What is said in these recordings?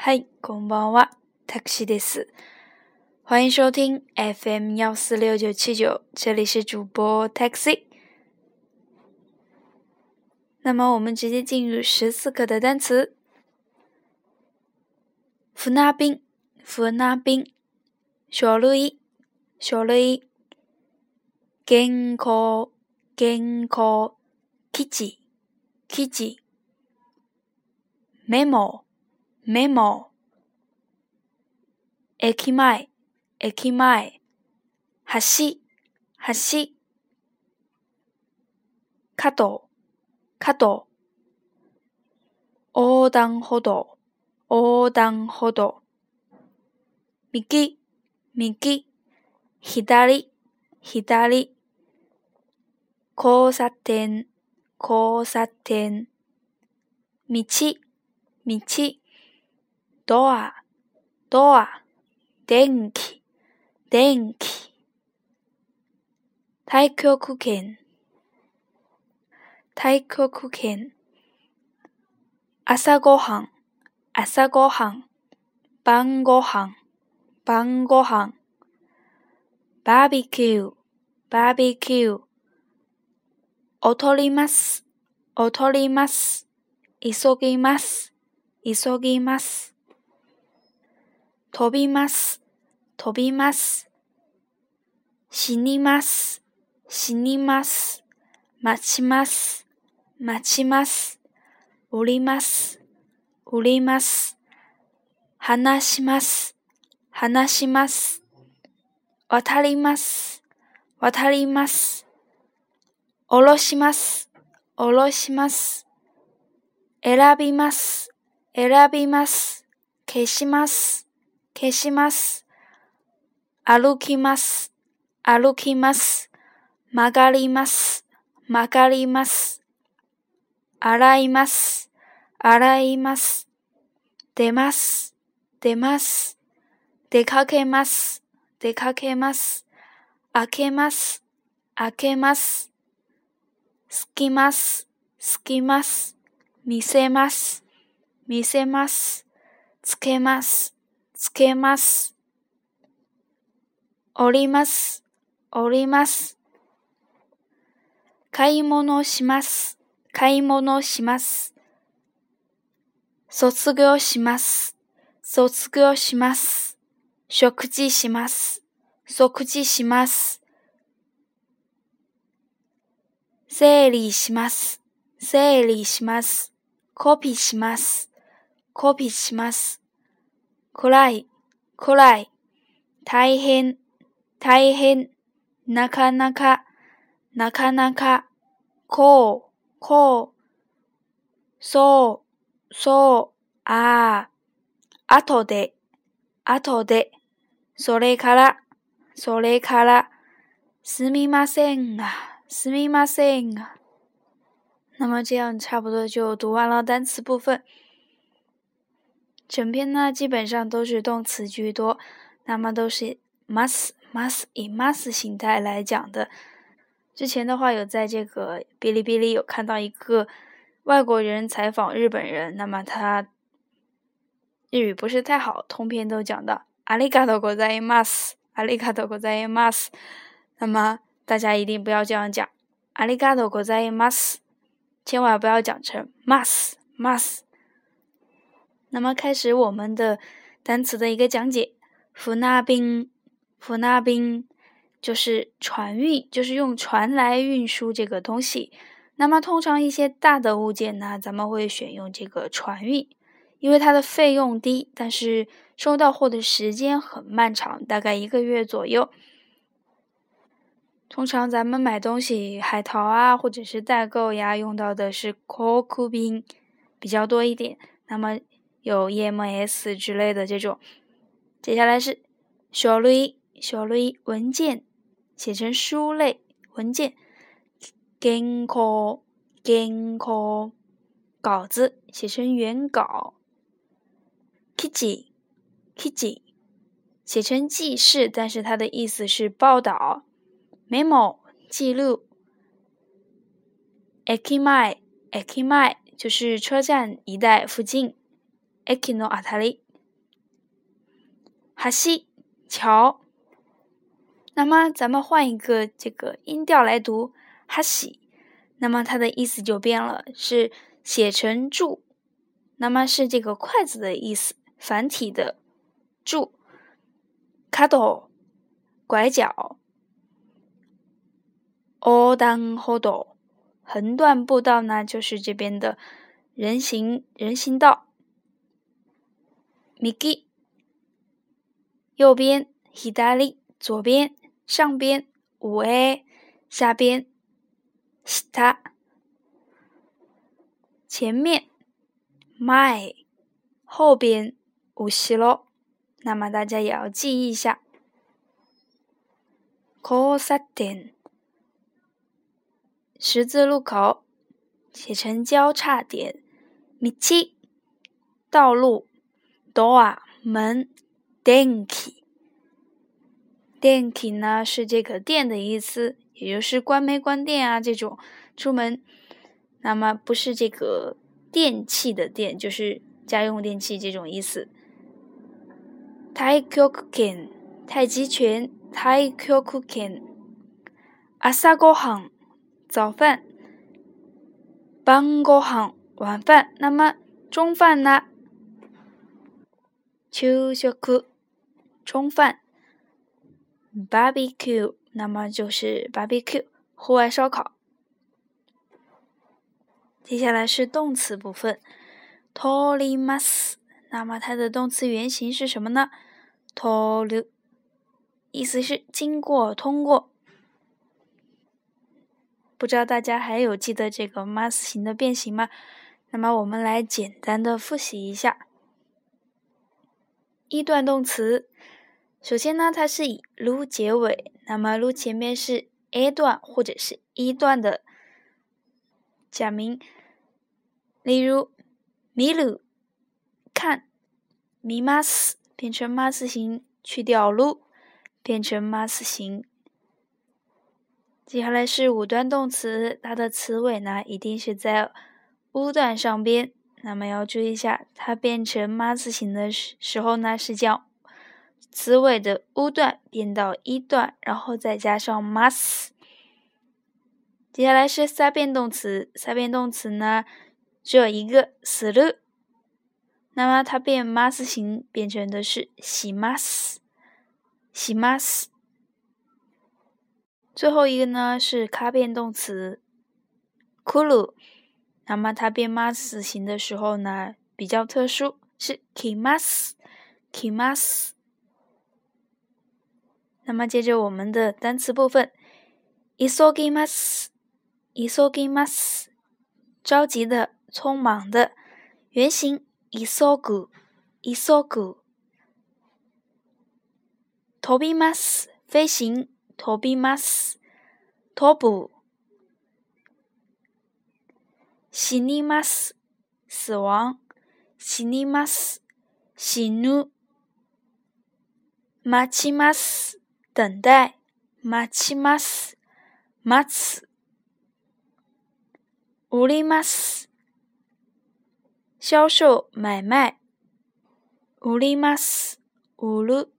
嗨，こんばんは、タクシーです。欢迎收听 FM146979，这里是主播 Taxi。那么我们直接进入14课的单词。船便、船便、書類、書類、原稿、原稿、記事、記事、メモ、メモ、駅前、駅前、橋、橋、角、角、横断歩道、横断歩道、右、右、左、左、交差点、交差点、道、道、ドア、ドア、電気、電気、太極拳、太極拳、朝ごはん、朝ごはん、晩ごはん、晩ごはん、バーベキュー、バーベキュー、踊ります、踊ります、急ぎます、急ぎます、飛びます、飛びます、死にます、死にます、待ちます、待ちます、売ります、売ります、話します、話します、渡ります、渡ります、下ろします、下ろします、選びます、選びます、消します、消します、歩きます、歩きます、曲がります、曲がります、洗います、洗います、出ます、出ます、出かけます、出かけます、開けます、開けます、すきます、すきます、見せます、見せます、つけます、つけます、折ります、折ります、買い物します、買い物します、卒業します、卒業します、食事します、食事します、整理します、整理します、コピーします、コピーします、暗い、暗い、大変、大変、なかなか、なかなか、こう、こう、そう、そう、ああ、後で、後で、それから、それから、すみませんが、すみませんが。那么这样差不多就读完了单词部分。整篇呢基本上都是动词居多，那么都是 must 以 must 形态来讲的。之前的话有在这个哔哩哔哩有看到一个外国人采访日本人，那么他日语不是太好，通篇都讲到ありがとうございます、ありがとうございます。那么大家一定不要这样讲ありがとうございます，千万不要讲成 must。那么开始我们的单词的一个讲解。船便，船便就是船运，就是用船来运输这个东西。那么通常一些大的物件呢，咱们会选用这个船运，因为它的费用低，但是收到货的时间很漫长，大概1个月左右。通常咱们买东西，海淘啊，或者是代购呀，用到的是航空便比较多一点。那么有 EMS 之类的这种。接下来是書類，書類文件，写成书类文件。原稿，原稿稿子，写成原稿。記事，記事写成记事，但是它的意思是报道。memo 记录。駅前，駅前就是车站一带附近。駅のあたり， 橋桥。那么咱们换一个这个音调来读橋，那么它的意思就变了，是写成柱，那么是这个筷子的意思，繁体的柱。角拐角，横断歩道横断步道呢，就是这边的人行道。右右边，左左边，上边，上下边，下前面，前后边，後ろ。那么大家也要记忆一下。交差点，十字路口，写成交叉点。道道路，ドア门，電気電気呢是这个电的意思，也就是关没关电啊这种出门。那么不是这个电器的电，就是家用电器这种意思。太極拳，太极拳，太極拳。朝ごはん，早饭。晩ごはん，晚饭。那么中饭呢？昼食，中饭。barbecue， 那么就是 barbecue， 户外烧烤。接下来是动词部分。通ります，那么它的动词原形是什么呢？通る，意思是经过、通过。不知道大家还有记得这个ます形的变形吗？那么我们来简单的复习一下。一段动词，首先呢，它是以る结尾，那么る前面是 A 段或者是一段的假名，例如見る，看，見ます变成ます形，去掉る变成ます形。接下来是五段动词，它的词尾呢一定是在u段上边，那么要注意一下，它变成ます形的时候呢，是将词尾的u段变到一段，然后再加上ます。接下来是三变动词，三变动词呢只有一个する，那么它变ます形变成的是します，します。最后一个呢是卡变动词来る，那么它变ます形的时候呢比较特殊，是来ます，来ます。那么接着我们的单词部分，急ぎます，急ぎます，着急的，匆忙的。原形急ぐ，急ぐ。飛びます，飞行，飛びます。飛ぶ。死にます，死亡，死にます。死ぬ。待ちます，等待，待ちます。待つ。売ります，销售买卖，売ります，売る。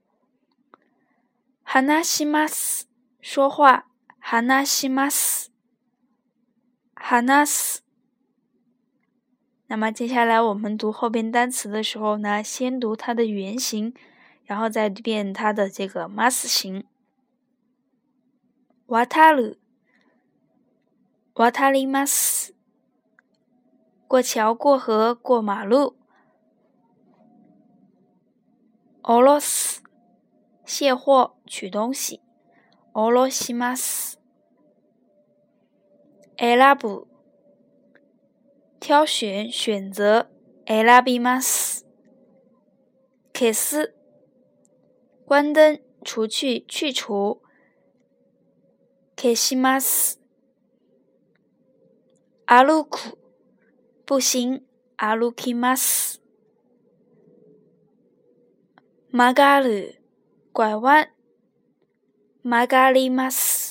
話します，说话，話します。話す。那么接下来我们读后边单词的时候呢，先读它的原形，然后再变它的这个ます形。渡る，渡ります。过桥、过河、过马路。下ろす，卸货、取东西。下ろします。選ぶ，挑选、选择。選びます。消す，关灯、除去、去除。消します。歩く，步行。歩きます。曲がる，拐弯。曲がります。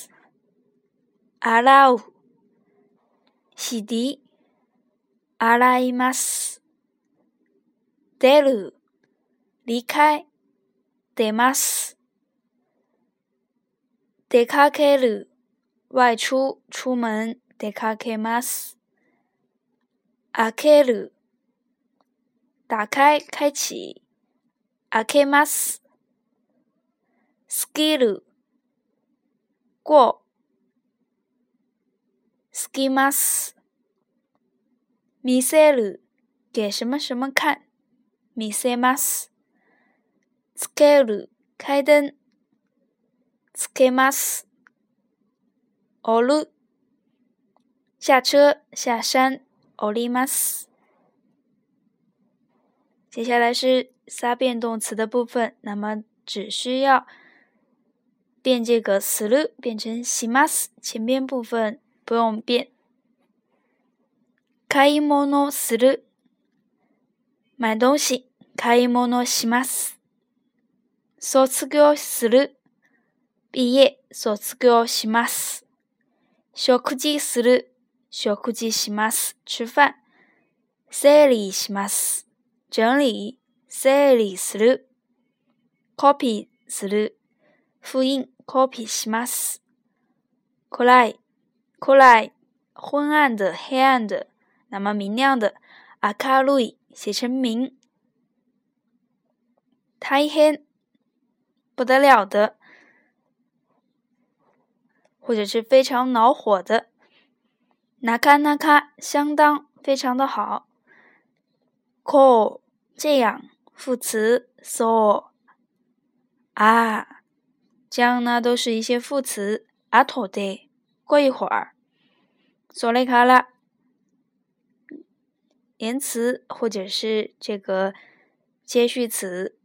洗う，洗涤。洗います。出る，离开。 出ます。出かける、外出、出門、出かけます。開ける、打开、开启。開けます。過ぎる、过。過ぎます。見せる、给什么什么看。見せます。つける、開灯。つけます。降る、下車、下山。降ります。接下来是撒变动词的部分，那么只需要变这个する变成します，前边部分不用变。買い物する，买东西，買い物します。卒業する，毕业，卒業します。食事する，食事します，吃饭。整理します。整理、整理する。copy する。复印、copy します。暗い、暗い。昏暗的、黑暗的。那么明亮的。明るい、写成明。大変、不得了的。或者是非常恼火的。なかなか、相当、非常的好。こう、这样，副词。そう啊，这样呢都是一些副词。あとで，过一会儿。それから，连词或者是这个接续词。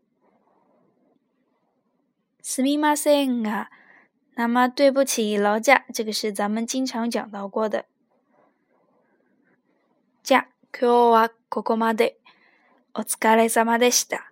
すみませんが，那么对不起劳驾，这个是咱们经常讲到过的。じゃ、今日はここまで。お疲れ様でした。